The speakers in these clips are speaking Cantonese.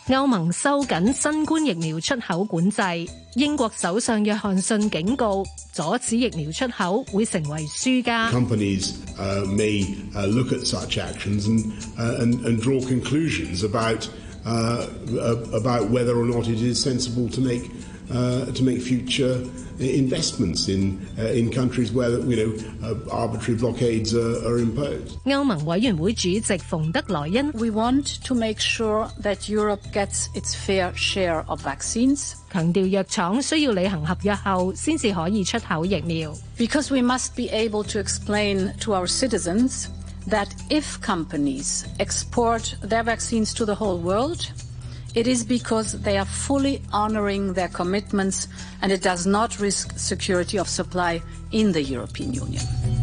歐盟收緊新冠疫苗出口管制，英國首相約翰遜警告，阻止疫苗出口會成為輸家。 Companies may look at such actions and draw conclusions about whether or not it is sensible to make future investments in countries where arbitrary blockades are imposed. 歐盟委員會主席馮德萊恩 We want to make sure that Europe gets its fair share of vaccines. 強調藥廠需要履行合約後先至可以出口疫苗。 Because we must be able to explain to our citizens that if companies export their vaccines to the whole world, it is because they are fully honoring their commitments and it does not risk security of supply in the European Union.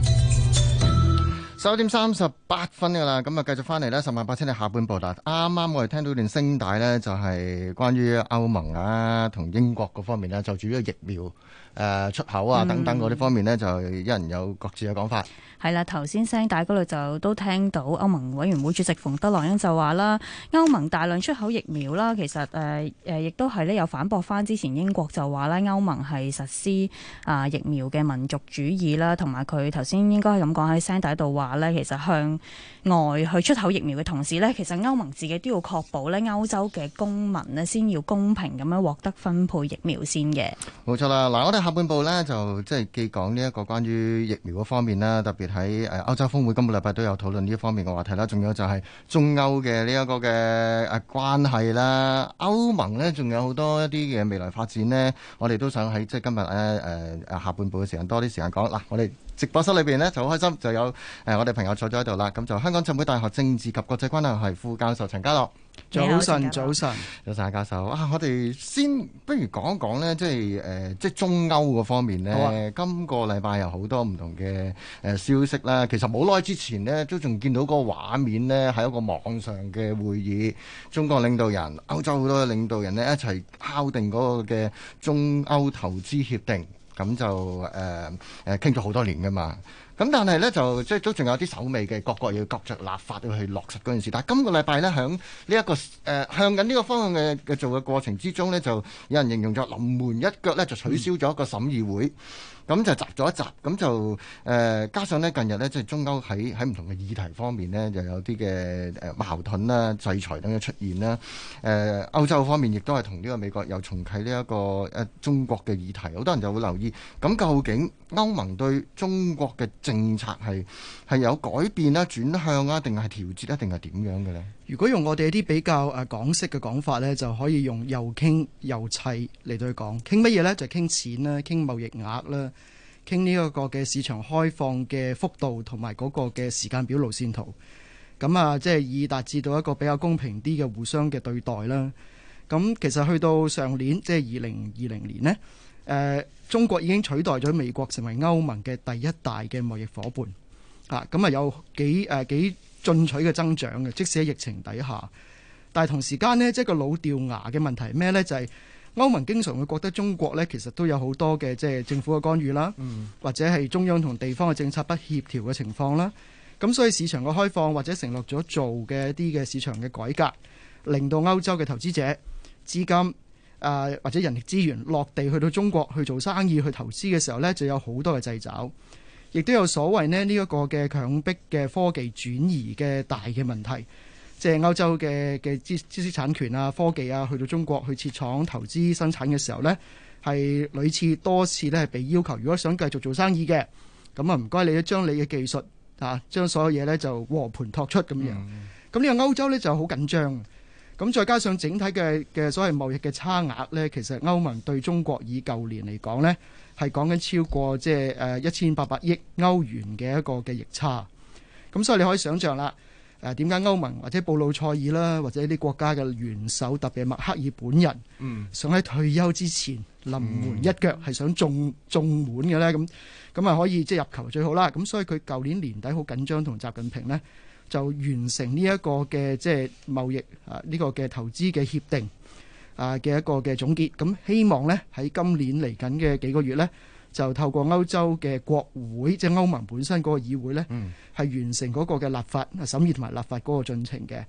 11:38㗎啦，咁啊繼續翻嚟咧，10萬八千里下半部啦。啱啱我哋聽到段聲帶咧，就係關於歐盟啊同英國嗰方面咧，就住呢個疫苗出口啊等等嗰啲方面咧，就一人有各自嘅講法。 係啦，頭先聲帶嗰度就都聽到歐盟委員會主席馮德萊恩就話啦，歐盟大量出口疫苗啦，其實亦都係咧有反駁翻之前英國就話咧歐盟係實施疫苗嘅民族主義啦，同埋佢頭先應該係咁講喺聲帶度話咧，其實向外去出口疫苗嘅同時咧，其實歐盟自己都要確保咧歐洲嘅公民咧先要公平咁樣獲得分配疫苗先嘅。 冇錯啦，嗱我哋下半部咧就即係既講呢一個關於疫苗嗰方面啦，特別喺歐洲峰會今個禮拜都有討論呢一方面嘅話題啦，仲有就係中歐嘅呢一個嘅關係啦，歐盟呢仲有好多一啲嘅未來發展呢，我哋都想喺即係今日下半部嘅時間多啲時間講。嗱，我哋直播室裏邊呢就好開心，就有我哋朋友坐咗喺度啦，咁就香港浸會大學政治及國際關係系副教授陳家樂。 早晨，早晨， 教授啊！我哋先不如講一講呢，即係中歐嗰方面呢。今個禮拜有好多唔同嘅消息啦。其實冇耐之前呢，都仲見到嗰個畫面呢，係一個網上嘅會議，中國領導人、歐洲好多領導人呢，一齊敲定嗰個嘅中歐投資協定，咁就傾咗好多年㗎嘛。咁但係呢，就即係都仲有啲手尾嘅，各國要各着立法要去落實嗰件事。但係今個禮拜呢，響呢一個向緊呢個方向嘅做嘅過程之中呢，就有人形容咗臨門一腳呢，就取消咗一個審議會。咁就集咗一集，咁就加上呢近日呢，即係中歐喺唔同嘅議題方面呢，就有啲嘅矛盾啦、制裁等嘅出現啦。歐洲方面亦都係同呢個美國又重啟呢一個中國嘅議題，好多人就會留意。咁究竟歐盟對中國嘅政策係有改變啦、轉向啊，定係調節啊，定係點樣嘅呢？ 如果用我哋啲比較港式嘅講法呢，就可以用又傾又砌嚟到去講。傾乜嘢呢？就傾錢啦，傾貿易額啦，傾呢一個嘅市場開放嘅幅度同埋嗰個嘅時間表路線圖。咁即係以達至到一個比較公平啲嘅互相嘅對待啦。咁其實去到上年即係2020年呢，中國已經取代咗美國成為歐盟嘅第一大嘅貿易夥伴。咁有幾進取嘅增長嘅，即使喺疫情底下。但係同時間呢，即係個老掉牙嘅問題係咩呢？就係歐盟經常會覺得中國呢，其實都有好多嘅即係政府嘅干預啦，或者係中央同地方嘅政策不協調嘅情況啦。咁所以市場嘅開放或者承諾咗做嘅一啲嘅市場嘅改革，令到歐洲嘅投資者資金或者人力資源落地去到中國去做生意去投資嘅時候呢，就有好多嘅掣肘。亦都有所謂呢一個嘅強迫嘅科技轉移嘅大嘅問題，即係歐洲嘅知識產權啊、科技啊，去到中國去設廠投資生產嘅時候呢，係屢次多次呢係被要求，如果想繼續做生意嘅，咁唔該你都將你嘅技術將所有嘢呢就和盤托出咁樣。咁呢個歐洲呢就好緊張。咁再加上整體嘅所謂貿易嘅差額呢，其實歐盟對中國以舊年嚟講呢，係講緊超過即係1800億歐元嘅一個嘅逆差。咁所以你可以想象啦，點解歐盟或者布魯塞爾啦，或者啲國家嘅元首，特別係默克爾本人，想喺退休之前臨門一腳係想中滿嘅呢？咁可以即係入球最好啦。咁所以佢舊年年底好緊張，同習近平呢就完成呢一個嘅即係貿易呢個嘅投資嘅協定嘅一個嘅總結。咁希望呢喺今年嚟緊嘅幾個月呢，就透過歐洲嘅國會，即係歐盟本身嗰個議會呢，係完成嗰個嘅立法審議同埋立法嗰個進程嘅。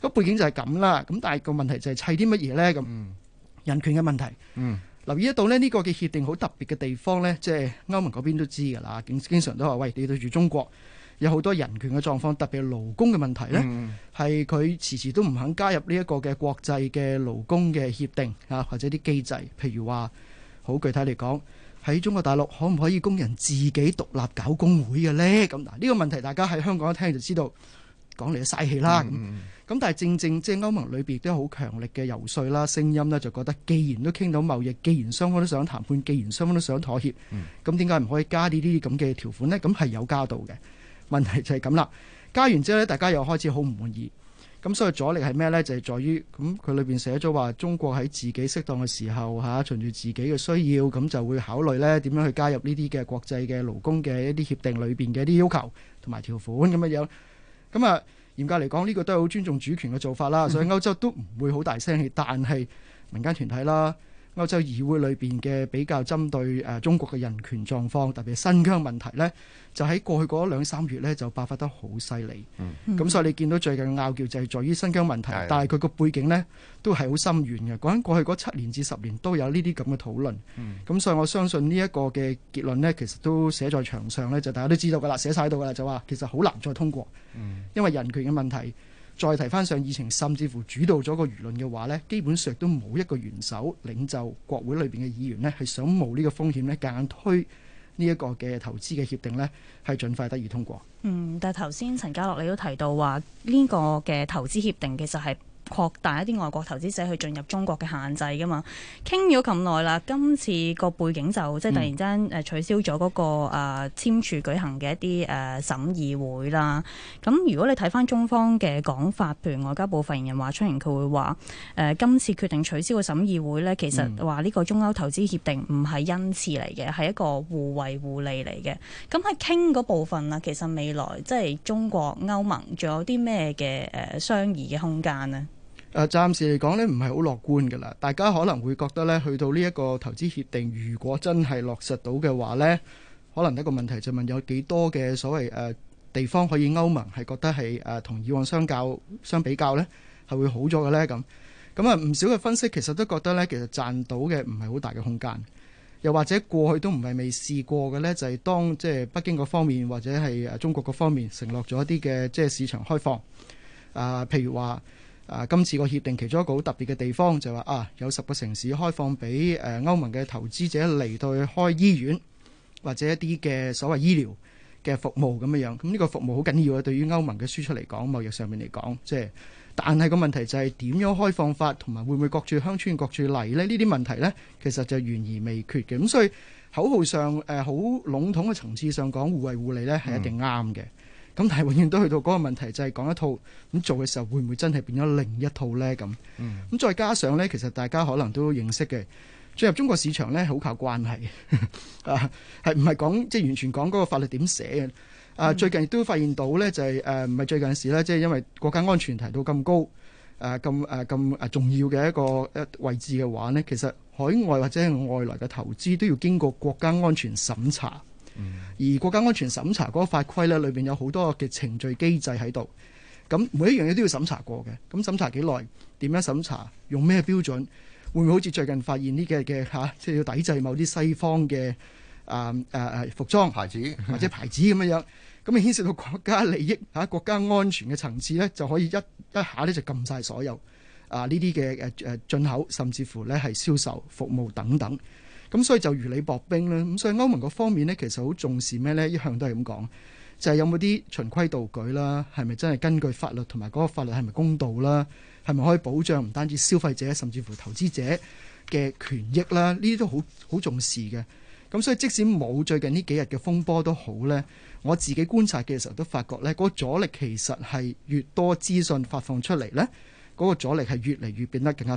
個背景就係咁啦。咁但係個問題就係砌啲乜嘢咧？咁人權嘅問題。留意得到呢個嘅協定好特別嘅地方呢，即係歐盟嗰邊都知㗎啦，經常都話喂，你對住中國有好多人權嘅狀況，特別係勞工嘅問題呢，係佢遲遲都唔肯加入呢一個嘅國際嘅勞工嘅協定啊，或者啲機制，譬如話好具體嚟講，喺中國大陸可唔可以工人自己獨立搞工會嘅呢？咁嗱，呢個問題大家喺香港一聽就知道，講嚟就嘥氣啦。咁但係正正即係歐盟裏邊都有好強力嘅游說啦，聲音呢就覺得既然都傾到貿易，既然雙方都想談判，既然雙方都想妥協，咁點解唔可以加呢啲咁嘅條款呢？咁係有加到嘅，問題就係咁啦。加完之後呢，大家又開始好唔滿意。咁所以阻力係咩呢？就係在於咁佢裏邊寫咗話，中國喺自己適當嘅時候循住自己嘅需要，咁就會考慮呢點樣去加入呢啲嘅國際嘅勞工嘅一啲協定裏邊嘅一啲要求同埋條款咁樣樣。咁啊，嚴格嚟講，呢個都係好尊重主權嘅做法啦。所以歐洲都唔會好大聲氣，但係民間團體啦、歐洲議會裏邊嘅比較針對中國嘅人權狀況，特別係新疆問題呢，就喺過去嗰2-3月呢就爆發得好犀利。咁所以你見到最近嘅拗撬就係在於新疆問題，但係佢個背景呢都係好深遠嘅。講緊過去嗰7年至10年都有呢啲咁嘅討論。咁所以我相信呢一個嘅結論呢，其實都寫在牆上呢，就大家都知道㗎啦，寫晒喺度㗎啦，就話其實好難再通過，因為人權嘅問題。再提翻上議程，甚至乎主導咗個輿論嘅話呢，基本上都冇一個元首領袖國會裏邊嘅議員呢係想冒呢個風險呢，夾硬推呢一個嘅投資嘅協定呢，係盡快得以通過。 但係頭先陳家樂你都提到話呢個嘅投資協定其實係擴大一啲外國投資者去進入中國嘅限制噶嘛，傾咗咁耐啦，今次個背景就即係突然間取消咗嗰個簽署舉行嘅一啲審議會啦。咁如果你睇翻中方嘅講法，譬如外交部發言人華春瑩，佢會話今次決定取消個審議會呢，其實話呢個中歐投資協定唔係恩賜嚟嘅，係一個互惠互利嚟嘅。咁喺傾嗰部分啦，其實未來即係中國歐盟仲有啲咩嘅商議嘅空間呢？ 暫時嚟講呢，唔係好樂觀㗎啦。大家可能會覺得呢，去到呢一個投資協定，如果真係落實到嘅話呢，可能一個問題就問有幾多嘅所謂地方可以歐盟係覺得係同以往相比較呢係會好咗嘅呢。咁啊，唔少嘅分析其實都覺得呢，其實賺到嘅唔係好大嘅空間，又或者過去都唔係未試過嘅呢，就係當即係北京嗰方面或者係中國嗰方面承諾咗一啲嘅即係市場開放譬如話。今次個協定其中一個好特別嘅地方就係話有10個城市開放俾歐盟嘅投資者嚟到去開醫院或者一啲嘅所謂醫療嘅服務咁樣。咁呢個服務好緊要啊，對於歐盟嘅輸出嚟講，貿易上面嚟講，即係但係個問題就係點樣開放法，同埋會唔會各處鄉村各處例呢？呢啲問題呢，其實就懸而未決嘅。咁所以口號上好籠統嘅層次上講互惠互利呢係一定啱嘅。咁但係永遠都去到嗰個問題，就係講一套咁做嘅時候，會唔會真係變咗另一套呢？咁再加上呢，其實大家可能都認識嘅，進入中國市場呢，好靠關係係唔係講即係完全講嗰個法律點寫嘅？最近亦都發現到呢，就係唔係最近事呢，即係因為國家安全提到咁高咁重要嘅一個位置嘅話呢，其實海外或者係外來嘅投資都要經過國家安全審查。而國家安全審查嗰個法規呢，裏邊有好多嘅程序機制喺度，咁每一樣嘢都要審查過嘅。咁審查幾耐？點樣審查？用咩標準？會唔會好似最近發現呢嘅即係要抵制某啲西方嘅服裝牌子或者牌子咁樣？咁牽涉到國家利益國家安全嘅層次呢，就可以一下呢就撳晒所有呢啲嘅進口，甚至乎呢係銷售服務等等。咁所以就如履薄冰啦。咁所以歐盟嗰方面呢，其實好重視咩呢？一向都係咁講，就係有冇啲循規蹈矩啦，係咪真係根據法律，同埋嗰個法律係咪公道啦？係咪可以保障唔單止消費者，甚至乎投資者嘅權益啦？呢啲都好重視嘅。咁所以即使冇最近呢幾日嘅風波都好呢，我自己觀察嘅時候都發覺呢，嗰個阻力其實係越多資訊發放出嚟呢，嗰個阻力係越嚟越變得更加大。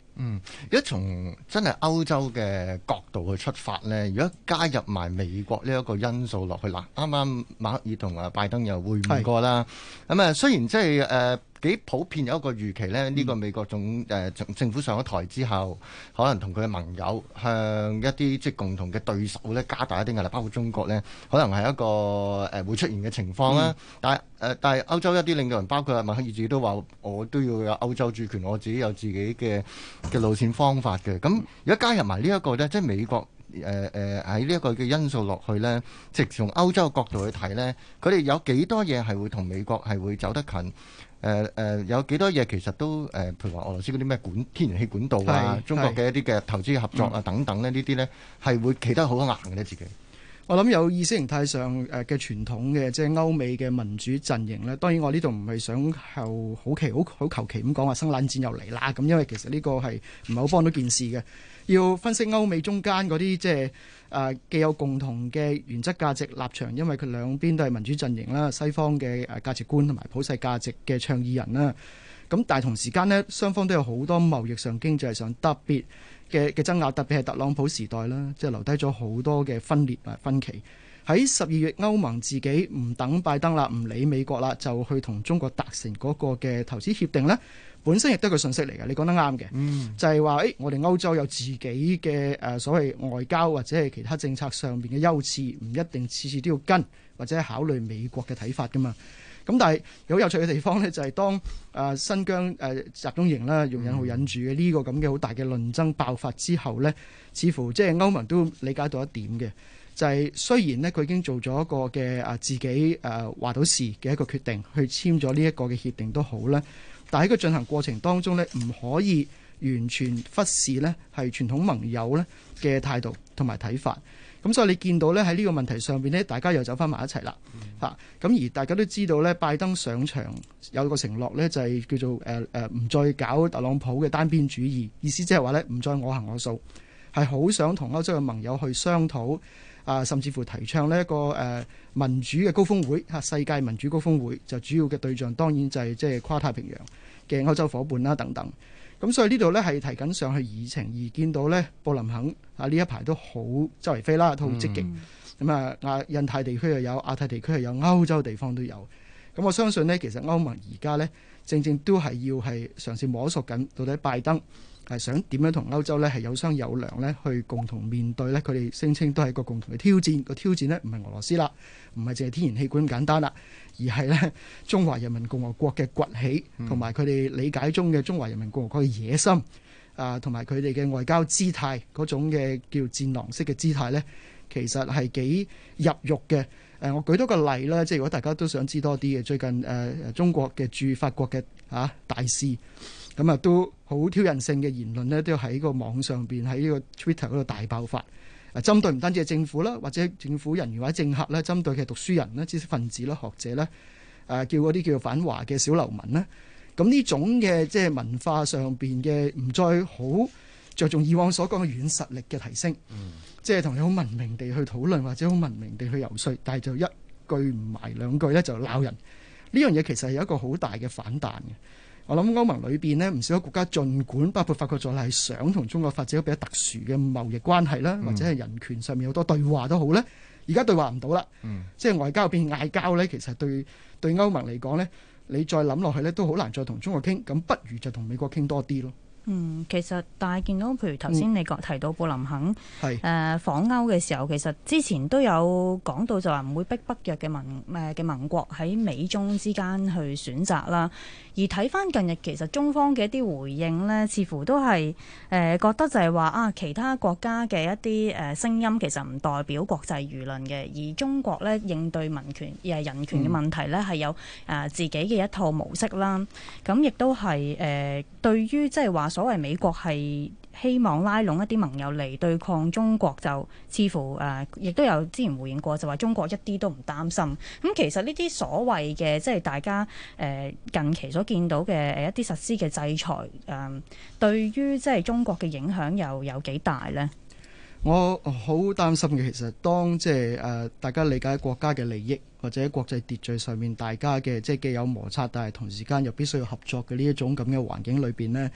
如果從真係歐洲嘅角度去出發呢，如果加入埋美國呢一個因素落去，嗱，啱啱馬克爾同拜登又會面過啦。咁啊，雖然即係幾普遍有一個預期呢，呢個美國政府上咗台之後，可能同佢嘅盟友向一啲即係共同嘅對手呢加大一啲壓力，包括中國呢，可能係一個會出現嘅情況啦。但係歐洲一啲領導人，包括默克爾自己都話，我都要有歐洲主權，我自己有自己嘅路線方法嘅。咁如果加入埋呢一個呢，即係美國喺呢一個嘅因素落去呢，即係從歐洲嘅角度去睇呢，佢哋有幾多嘢係會同美國係會走得近？有幾多嘢其實都譬如話俄羅斯嗰啲咩天然氣管道啊，中國嘅一啲嘅投資合作啊等等呢啲呢係會企得好硬嘅呢自己。 我諗有意識形態上嘅傳統嘅，即係歐美嘅民主陣營呢。當然我呢度唔係想好求其咁講話生冷戰又嚟啦咁，因為其實呢個係唔係好幫到件事嘅。要分析歐美中間嗰啲即係既有共同嘅原則價值立場，因為佢兩邊都係民主陣營啦，西方嘅價值觀同埋普世價值嘅倡議人啦。咁但係同時間呢，雙方都有好多貿易上、經濟上特別嘅爭拗，特別係特朗普時代啦，即係留低咗好多嘅分裂同埋分歧。喺12月，歐盟自己唔等拜登啦，唔理美國啦，就去同中國達成嗰個嘅投資協定呢，本身亦都係個信息嚟嘅。你講得啱嘅，就係話我哋歐洲有自己嘅所謂外交或者係其他政策上面嘅優次，唔一定次次都要跟或者考慮美國嘅睇法噶嘛。咁但係有趣嘅地方呢，就係當新疆集中營啦，用引號引住嘅呢個咁嘅好大嘅論爭爆發之後呢，似乎即係歐盟都理解到一點嘅，就係雖然呢，佢已經做咗一個嘅自己話到事嘅一個決定，去簽咗呢一個嘅協定都好呢，但係喺個進行過程當中呢，唔可以完全忽視呢係傳統盟友呢嘅態度同埋睇法。咁所以你見到呢，喺呢個問題上邊呢，大家又走翻埋一齊啦。咁而大家都知道呢，拜登上場有個承諾呢，就係叫做唔再搞特朗普嘅單邊主義，意思即係話呢，唔再我行我素，係好想同歐洲嘅盟友去商討甚至乎提倡呢一個民主嘅高峰會，世界民主高峰會，就主要嘅對象當然就係即係跨太平洋嘅歐洲伙伴啦等等。咁所以呢度呢係提緊上去議程，而見到呢布林肯呢一排都好周圍飛啦，都好積極。咁印太地區又有，亞太地區又有，歐洲地方都有。咁我相信呢，其實歐盟而家呢，正正都係要係嘗試摸索緊，到底拜登係想點樣同歐洲呢係有商有量呢去共同面對呢，佢哋聲稱都係一個共同嘅挑戰。個挑戰呢唔係俄羅斯啦，唔係淨係天然氣管咁簡單啦，而係呢中華人民共和國嘅崛起，同埋佢哋理解中嘅中華人民共和國嘅野心同埋佢哋嘅外交姿態嗰種嘅叫戰狼式嘅姿態呢，其實係幾入肉嘅。我舉多個例啦，即係如果大家都想知多啲嘅，最近中國嘅駐法國嘅大使，咁都好挑釁性嘅言論呢，都喺個網上邊喺呢個 Twitter 嗰度大爆發。針對唔單止係政府啦，或者政府人員或者政客啦，針對嘅讀書人啦、知識分子啦、學者啦，叫嗰啲叫做反華嘅小流民啦。咁呢種嘅即係文化上邊嘅唔再好着重以往所講嘅軟實力嘅提升，即係同你好文明地去討論或者好文明地去游說，但係就一句唔埋兩句咧就鬧人。呢樣嘢其實係有一個好大嘅反彈嘅。我諗歐盟裏邊呢，唔少國家儘管包括法國在內係想同中國發展一個比較特殊嘅貿易關係啦，或者係人權上面有好多對話都好咧，而家對話唔到啦。即係外交變嗌交咧，其實對歐盟嚟講咧，你再諗落去咧都好難再同中國傾，咁不如就同美國傾多啲咯。 其實但係見到譬如頭先你提到布林肯訪歐嘅時候，其實之前都有講到就話唔會逼北約嘅盟國喺美中之間去選擇啦。而睇翻近日其實中方嘅一啲回應呢，似乎都係覺得就係話其他國家嘅一啲聲音其實唔代表國際輿論嘅，而中國呢應對民權人權嘅問題呢係有自己嘅一套模式啦。咁亦都係對於即係話所謂美國係希望拉攏一啲盟友嚟對抗中國，就似乎亦都有之前回應過，就話中國一啲都唔擔心。咁其實呢啲所謂嘅即係大家近期所見到嘅一啲實施嘅制裁，對於即係中國嘅影響又有幾大呢？ 我好擔心嘅，其實當即係大家理解國家嘅利益或者國際秩序上面大家嘅即係既有摩擦，但係同時間又必須要合作嘅呢一種咁嘅環境裏邊呢，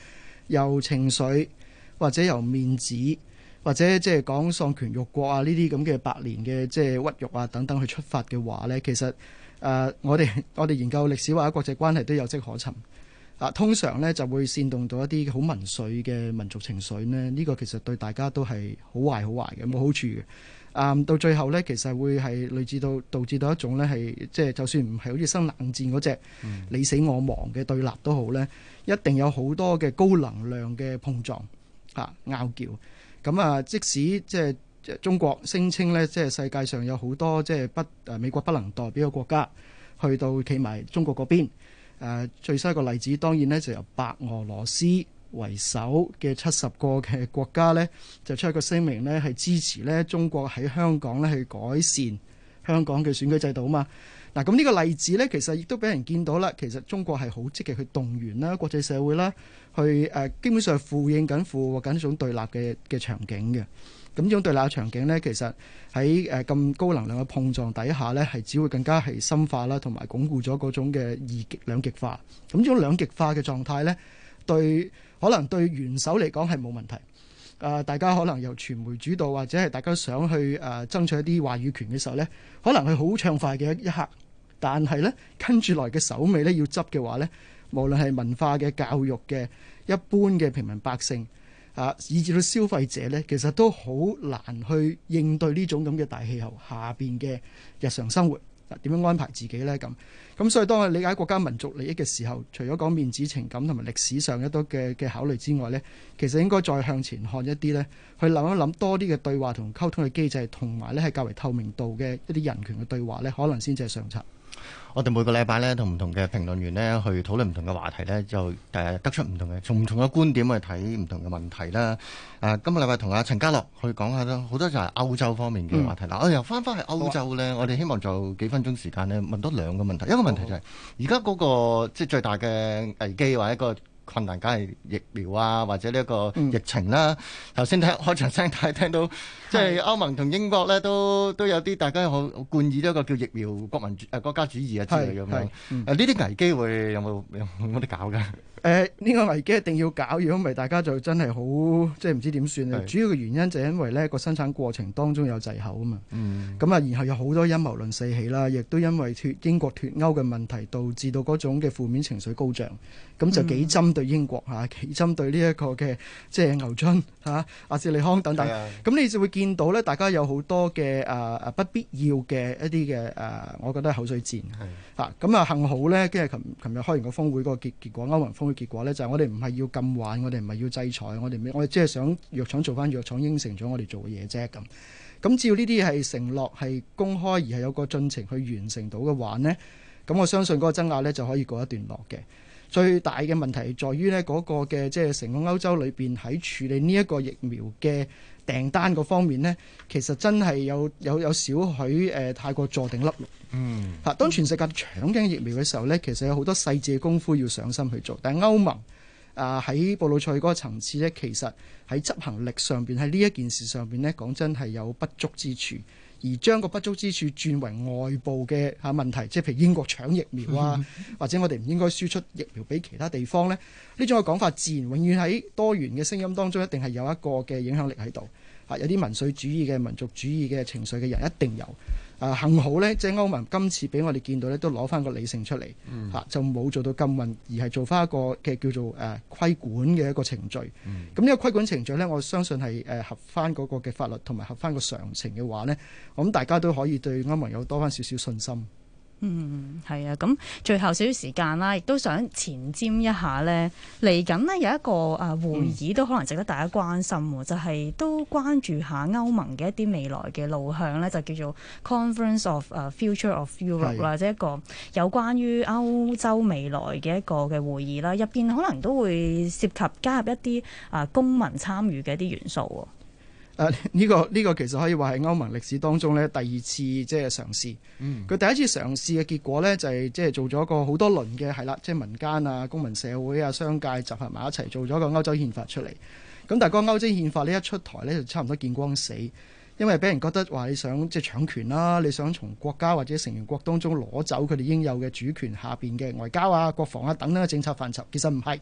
由情緒或者由面子或者即係講喪權辱國啊呢啲咁嘅百年嘅即係屈辱啊等等去出發嘅話呢，其實我哋研究歷史或者國際關係都有跡可尋。通常呢就會煽動到一啲好民粹嘅民族情緒呢，呢個其實對大家都係好壞嘅，冇好處嘅。到最後呢，其實會係類似導致到一種呢係即係就算唔係好似生冷戰嗰隻你死我亡嘅對立都好呢，一定有好多嘅高能量嘅碰撞拗撬。咁即使即係中國聲稱呢，即係世界上有好多即係美國不能代表嘅國家去到企埋中國嗰邊。最新一個例子當然呢，就由白俄羅斯為首嘅70個嘅國家呢，就出一個聲明呢，係支持呢中國喺香港呢去改善香港嘅選舉制度啊嘛。嗱，咁呢個例子呢，其實亦都俾人見到啦。其實中國係好積極去動員啦，國際社會啦，去基本上附和緊一種對立嘅場景嘅。咁呢種對立嘅場景呢，其實喺咁高能量嘅碰撞底下呢，係只會更加係深化啦，同埋鞏固咗嗰種嘅兩極化。咁呢種兩極化嘅狀態呢，可能對元首嚟講係冇問題。大家可能由傳媒主導，或者係大家想去爭取一啲話語權嘅時候呢，可能係好暢快嘅一刻。但係呢，跟住來嘅手尾呢，要執嘅話呢，無論係文化嘅、教育嘅、一般嘅平民百姓以至到消費者呢，其實都好難去應對呢種咁嘅大氣候下邊嘅日常生活。點樣安排自己呢？咁所以當我理解國家民族利益嘅時候，除咗講面子情感同埋歷史上一多嘅考慮之外呢，其實應該再向前看一啲呢，去諗一諗多啲嘅對話同溝通嘅機制，同埋呢係較為透明度嘅一啲人權嘅對話呢，可能先至係上策。 我哋每個禮拜呢，同唔同嘅評論員呢去討論唔同嘅話題呢，就得出唔同嘅從唔同嘅觀點去睇唔同嘅問題啦。今個禮拜同阿陳家樂去講下啦，好多就係歐洲方面嘅話題。嗱，我又翻返去歐洲呢，我哋希望就幾分鐘時間呢問多兩個問題。一個問題就係而家嗰個即係最大嘅危機或者一個困難，梗係疫苗啊，或者呢一個疫情啦。頭先開場聲帶聽到，即係歐盟同英國咧都有啲大家好冠以一個叫疫苗國家主義啊之類咁樣。呢啲危機會有冇得搞㗎？ 呢個危機一定要搞，如果唔係大家就真係好即係唔知點算啊！主要嘅原因就係因為呢個生產過程當中有滯後啊嘛。咁然後有好多陰謀論四起啦，亦都因為英國脫歐嘅問題導致到嗰種嘅負面情緒高漲，咁就幾針對英國幾針對呢一個嘅即係牛津阿斯利康等等。咁你就會見到呢，大家有好多嘅不必要嘅一啲嘅我覺得係口水戰。咁幸好呢，跟住琴日開完個峰會嗰個結果，歐盟峰會結果呢，就係我哋唔係要禁玩，我哋唔係要制裁，我哋只係想藥廠做翻藥廠應承咗我哋做嘅嘢啫。咁只要呢啲係承諾係公開而係有個進程去完成到嘅話呢，咁我相信嗰個爭拗呢就可以告一段落嘅。最大嘅問題在於呢嗰個嘅即係成個歐洲裏邊喺處理呢一個疫苗嘅訂單嗰方面呢，其實真係有少許太過坐定粒六。當全世界搶緊疫苗嘅時候呢，其實有好多細緻嘅功夫要上心去做。但係歐盟喺布魯塞爾嗰個層次呢，其實喺執行力上邊喺呢一件事上邊呢，講真係有不足之處。而將個不足之處轉為外部嘅問題，即係譬如英國搶疫苗或者我哋唔應該輸出疫苗俾其他地方呢，呢種嘅講法自然永遠喺多元嘅聲音當中一定係有一個嘅影響力喺度。有啲民粹主義嘅民族主義嘅情緒嘅人一定有。幸好呢，即係歐盟今次俾我哋見到呢，都攞翻個理性出嚟，就冇做到禁運，而係做翻一個嘅叫做規管嘅一個程序。咁呢個規管程序呢，我相信係合翻嗰個嘅法律同埋合翻個常情嘅話呢，我諗大家都可以對歐盟有多翻少少信心。 係啊，咁最後少少時間啦，亦都想前瞻一下呢。嚟緊呢有一個會議都可能值得大家關心，就係都關注下歐盟嘅一啲未來嘅路向呢，就叫做 Conference of Future of Europe 啦，即係一個有關於歐洲未來嘅一個嘅會議啦，入邊可能都會涉及加入一啲公民參與嘅一啲元素。 呢個其實可以話係歐盟歷史當中咧第二次即係嘗試。佢第一次嘗試嘅結果咧就係即係做咗個好多輪嘅係啦，即係民間啊、公民社會啊、商界集合埋一齊做咗個歐洲憲法出嚟。咁但係個歐洲憲法呢一出台咧就差唔多見光死，因為俾人覺得話你想即係搶權啦，你想從國家或者成員國當中攞走佢哋應有嘅主權下邊嘅外交啊、國防啊等等嘅政策範疇，其實唔係。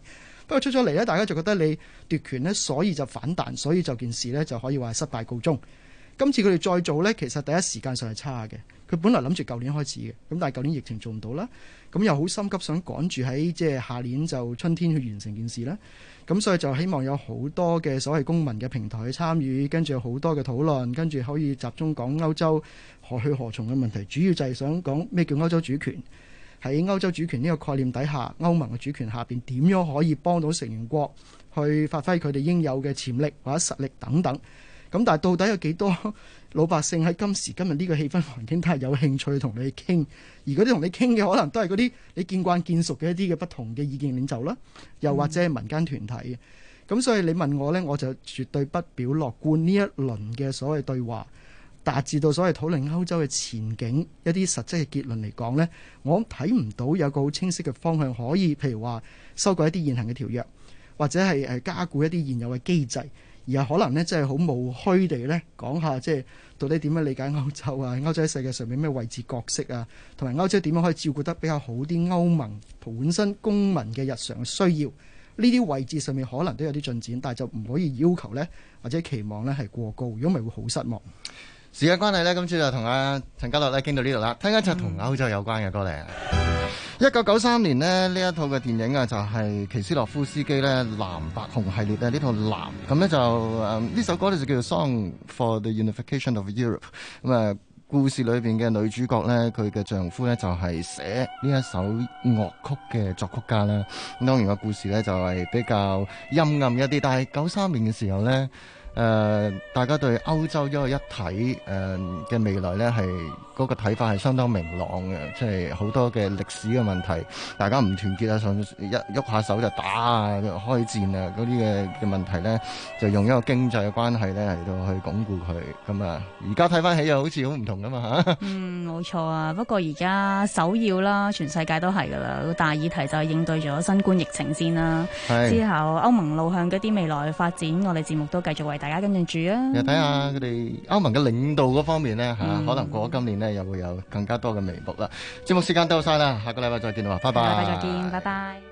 過出咗嚟呢，大家就覺得你奪權呢，所以就反彈，所以就件事呢就可以話係失敗告終。今次佢哋再做呢，其實第一時間上係差嘅。佢本來諗住舊年開始嘅，咁但係舊年疫情做唔到啦，咁又好心急想趕住喺即係下年就春天去完成件事啦。咁所以就希望有好多嘅所謂公民嘅平台去參與，跟住有好多嘅討論，跟住可以集中講歐洲何去何從嘅問題。主要就係想講咩叫歐洲主權，喺歐洲主權呢個概念底下，歐盟嘅主權下邊點樣可以幫到成員國去發揮佢哋應有嘅潛力或者實力等等。咁但係到底有幾多老百姓喺今時今日呢個氣氛環境都係有興趣同你傾？而嗰啲同你傾嘅可能都係嗰啲你見慣見熟嘅一啲嘅不同嘅意見領袖啦，又或者係民間團體嘅。咁所以你問我呢，我就絕對不表樂觀。呢一輪嘅所謂對話達至到所謂討論歐洲嘅前景一啲實質嘅結論嚟講呢，我睇唔到有個好清晰嘅方向可以，譬如話修改一啲現行嘅條約，或者係加固一啲現有嘅機制。而係可能呢，即係好務虛地呢講下，即係到底點樣理解歐洲啊？歐洲喺世界上面咩位置角色啊？同埋歐洲點樣可以照顧得比較好啲歐盟本身公民嘅日常嘅需要？呢啲位置上面可能都有啲進展，但係就唔可以要求呢，或者期望呢係過高，如果唔係會好失望。 時間關係呢，今次就同阿陳家樂呢傾到呢度啦。聽一隻同歐洲有關嘅歌嚟。1993年呢一套嘅電影啊，就係奇斯洛夫斯基呢藍白紅系列呢套藍，咁呢就呢首歌呢就叫做 Song for the Unification of Europe。咁故事裏邊嘅女主角呢，佢嘅丈夫呢就係寫呢一首樂曲嘅作曲家啦。咁當然個故事呢就係比較陰暗一啲，但係93年嘅時候呢，大家對歐洲一個一體嘅未來呢，係嗰個睇法係相當明朗嘅，即係好多嘅歷史嘅問題，大家唔團結啊，上一喐下手就打啊、開戰啊嗰啲嘅問題呢，就用一個經濟嘅關係呢嚟到去鞏固佢。咁而家睇翻起又好似好唔同噶嘛嚇。 冇錯啊。不過而家首要啦，全世界都係噶啦，大議題就係應對咗新冠疫情先啦。之後歐盟路向嗰啲未來嘅發展，我哋節目都繼續為大家跟進住啊。 又睇下佢哋歐盟嘅領導嗰方面呢，可能過咗今年呢，又會有更加多嘅眉目啦。節目時間到晒啦，下個禮拜再見啦，拜拜。 下個禮拜再見，拜拜。